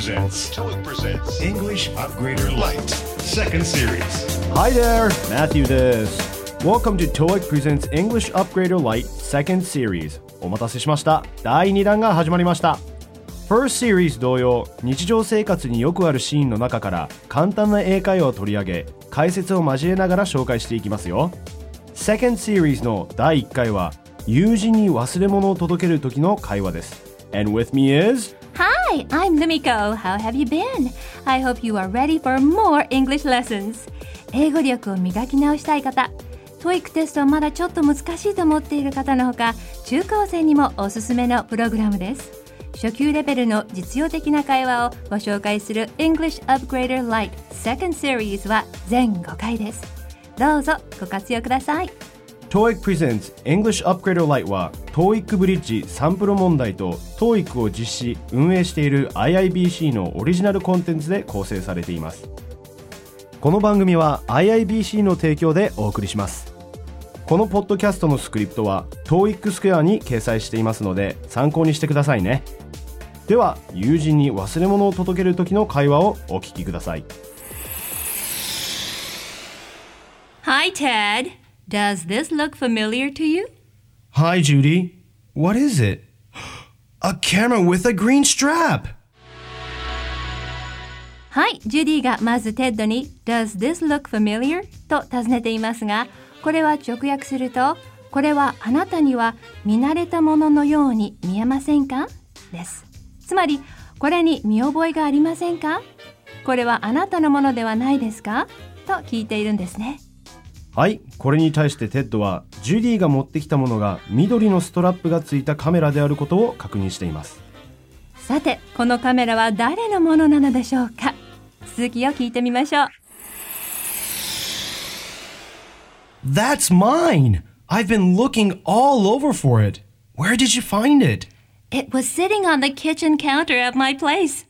presents English Upgrader Lite Second Series. Hi there, Matthew です。Welcome to TOEIC presents English Upgrader Lite Second Series. お待たせしました。第2弾が始まりました。First Series 同様、日常生活によくあるシーンの中から簡単な英会話を取り上げ、解説を交えながら紹介していきますよ。Second Series の第1回は、友人に忘れ物を届ける時の会話です。And with me is...Hi, I'm Lumiko. How have you been? I hope you are ready for more English lessons. 英語力を磨き直したい方、TOEIC テストはまだちょっと難しいと思っている方のほか、中高生にもおすすめのプログラムです。初級レベルの実用的な会話をご紹介する English Upgrader Lite Second Series は全5回です。どうぞご活用ください。 TOEIC presents English Upgrader Lite は TOEIC ブリッジサンプル問題と TOEIC を実施・運営している IIBC のオリジナルコンテンツで構成されています。この番組は IIBC の提供でお送りします。このポッドキャストのスクリプトは TOEIC スクエアに掲載していますので参考にしてくださいね。では友人に忘れ物を届ける時の会話をお聞きください。 Hi Ted.Does this look familiar to you? Hi, Judy. What is it? A camera with a green strap! はい、ジュディがまずテッドに Does this look familiar? と尋ねていますが、これは直訳すると、これはあなたには見慣れたもののように見えませんかです。つまり、これに見覚えがありませんか？これはあなたのものではないですか？と聞いているんですね。 はい、これに対してテッドはジュディが持ってきたものが緑のストラップがついたカメラであることを確認しています。 さて、このカメラは誰のものなのでしょうか？続きを聞いてみましょう。 That's mine! I've been looking all over for it. Where did you find it? It was sitting on the kitchen counter at my place.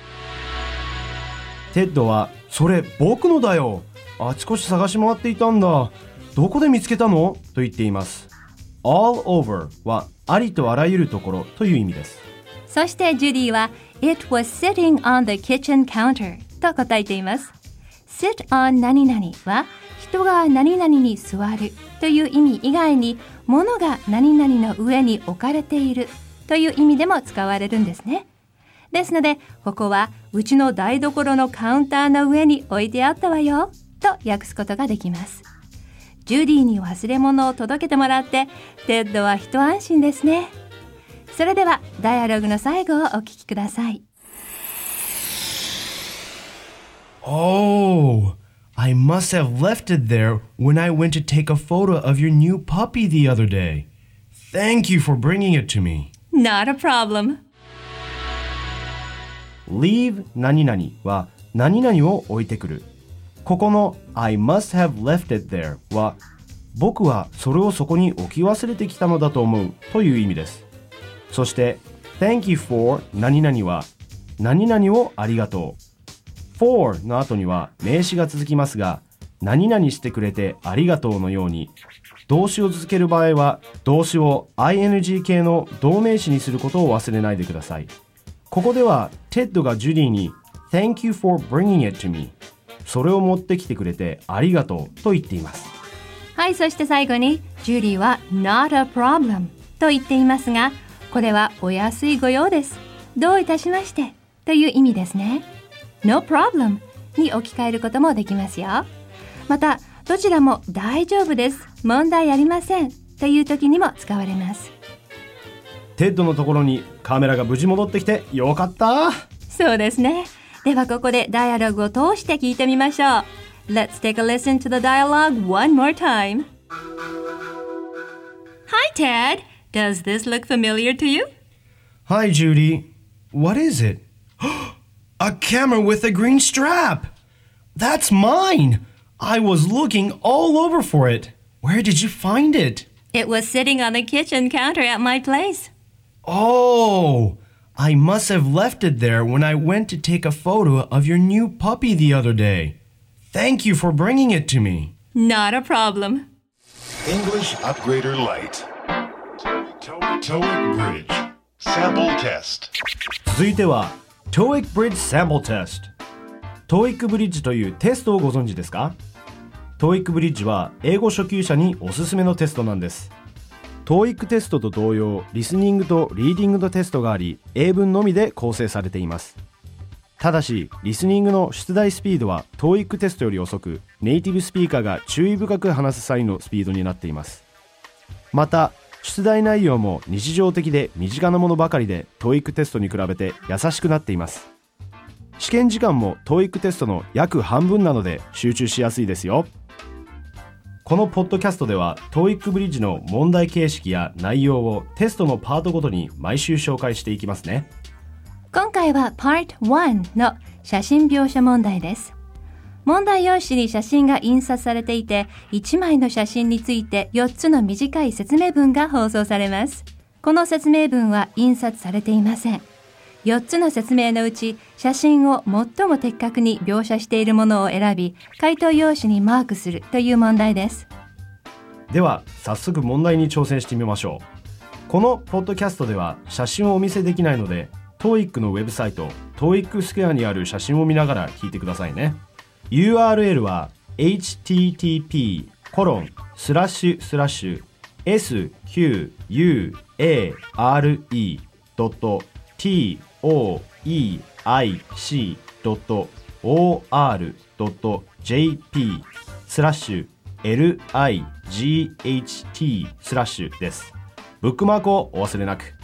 テッドは、それ僕のだよ。あちこち探し回っていたんだ。どこで見つけたの？と言っています。all over はありとあらゆるところという意味です。 そしてジュディは It was sitting on the kitchen counter と答えています。sit on 何々は人が何々に座るという意味以外に物が何々の上に置かれているという意味でも使われるんですね。ですのでここはうちの台所のカウンターの上に置いてあったわよと訳すことができます。ジュディに忘れ物を届けてもらってテッドは一安心ですね。それではダイアログの最後をお聞きください。 Oh, I must have left it there when I went to take a photo of your new puppy the other day. Thank you for bringing it to me. Not a problem. Leave 何々は何々を置いてくる。ここの I must have left it there は僕はそれをそこに置き忘れてきたのだと思うという意味です。そして Thank you for 何々は何々をありがとう。for の後には名詞が続きますが何々してくれてありがとうのように動詞を続ける場合は動詞を ing 形の動名詞にすることを忘れないでください。ここではテッドがジュディに Thank you for bringing it to meそれを持ってきてくれてありがとうと言っています。 はい、そして最後にジュディは Not a problem と言っていますがこれはお安いご用です。どういたしましてという意味ですね。No problem に置き換えることもできますよ。またどちらも大丈夫です問題ありませんという時にも使われます。 テッドのところにカメラが無事戻ってきてよかった。 そうですね。ではここでダイアログを通して聞いてみましょう。 Let's take a listen to the dialogue one more time. Hi Ted, does this look familiar to you? Hi Judy, what is it? A camera with a green strap! That's mine! I was looking all over for it. Where did you find it? It was sitting on the kitchen counter at my place. Oh!I must have left it there when I went to take a photo of your new puppy the other day. Thank you for bringing it to me. Not a problem. English Upgrader Lite TOEIC Bridge Sample Test 続いては TOEIC Bridge Sample Test。 TOEIC ブリッジというテストをご存知ですか？ TOEIC ブリッジは英語初級者におすすめのテストなんです。 TOEIC テストと同様、リスニングとリーディングのテストがあり、英文のみで構成されています。ただし、リスニングの出題スピードは TOEIC テストより遅く、ネイティブスピーカーが注意深く話す際のスピードになっています。また、出題内容も日常的で身近なものばかりで TOEIC テストに比べて優しくなっています。試験時間も TOEIC テストの約半分なので集中しやすいですよ。このポッドキャストでは TOEIC ブリッジの問題形式や内容をテストのパートごとに毎週紹介していきますね。 今回は Part 1の写真描写問題です。問題用紙に写真が印刷されていて、1枚の写真について4つの短い説明文が放送されます。この説明文は印刷されていません。4つの説明のうち、写真を最も的確に描写しているものを選び、回答用紙にマークするという問題です。 では、早速問題に挑戦してみましょう。このポッドキャストでは写真をお見せできないので、TOEIC のウェブサイト TOEIC スクエアにある写真を見ながら聞いてくださいね。URL は http://SQUARE.TOEIC.light/です。ブックマークをお忘れなく。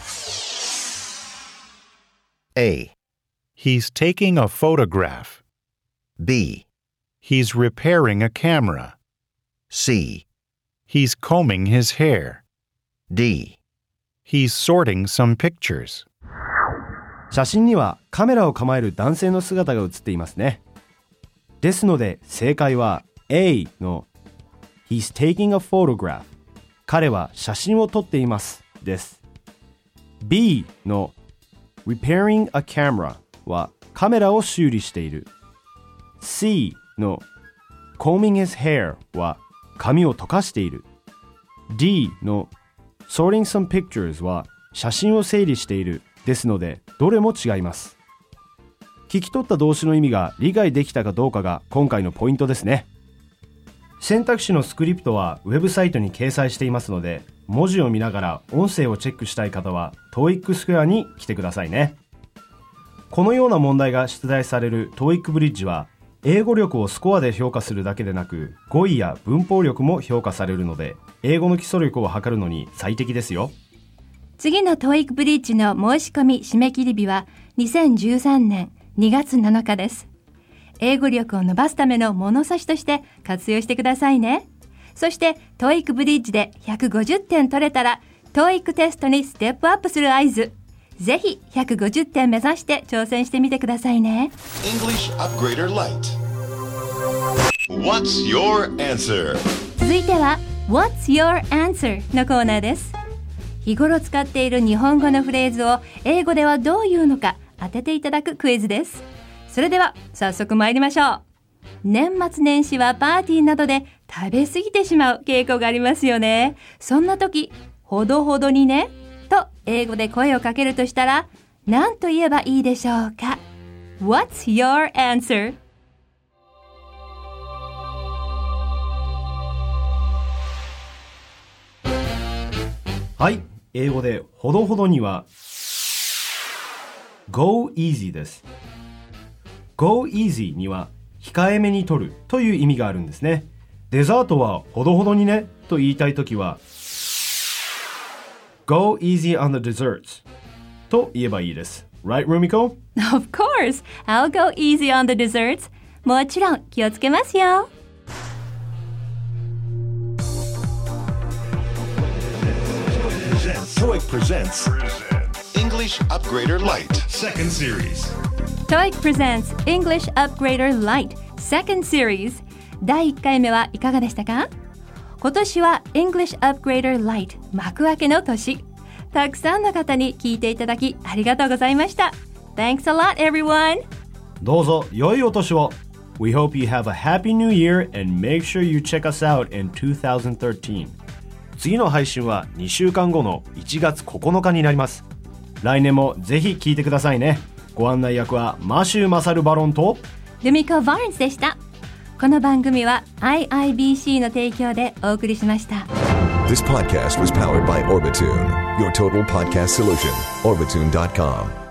A. He's taking a photograph. B. He's repairing a camera. C. He's combing his hair. D. He's sorting some pictures. 写真にはカメラを構える男性の姿が写っていますね。ですので正解は A の He's taking a photograph。 彼は写真を撮っていますです。 B の Repairing a camera はカメラを修理している。 C の Combing his hair は髪を溶かしている。 D の Sorting some pictures は写真を整理しているですので、どれも違います。聞き取った動詞の意味が理解できたかどうかが今回のポイントですね。選択肢のスクリプトはウェブサイトに掲載していますので、文字を見ながら音声をチェックしたい方は TOEIC スクエアに来てくださいね。このような問題が出題される TOEIC ブリッジは、英語力をスコアで評価するだけでなく、語彙や文法力も評価されるので、英語の基礎力を測るのに最適ですよ。 次の TOEIC ブリッジの申し込み締め切り日は2013年2月7日です。英語力を伸ばすための物差しとして活用してくださいね。そして TOEIC ブリッジで150点取れたら TOEIC テストにステップアップする合図。ぜひ150点目指して挑戦してみてくださいね。 English Upgrader Lite. What's your answer? 続いては What's your answer のコーナーです。日頃使っている日本語のフレーズを英語ではどう言うのか当てていただくクイズです。それでは早速参りましょう。年末年始はパーティーなどで食べ過ぎてしまう傾向がありますよね。そんな時、ほどほどにねと英語で声をかけるとしたら何と言えばいいでしょうか。 What's your answer? はい、英語でほどほどには Go easy です。 Go easy には控えめに取るという意味があるんですね。デザートはほどほどにねと言いたいときは Go easy on the desserts と言えばいいです。 Right, Rumiko? Of course, I'll go easy on the desserts. もちろん気をつけますよ。 TOEIC presents English Upgrader Lite Second Series. TOEIC presents English Upgrader Lite Second Series。 第1回目はいかがでしたか？今年は English Upgrader Lite 幕開けの年。たくさんの方に聞いていただきありがとうございました。 Thanks a lot, everyone. どうぞ良いお年を。 We hope you have a happy new year and make sure you check us out in 2013。 次の配信は2週間後の1月9日になります。来年もぜひ聞いてくださいね。 ご案内役はマシュー・マサル・バロンとルミコ・バーンズでした。この番組は IIBC の提供でお送りしました。 This podcast was powered by Orbitune, your total podcast solution. Orbitune.com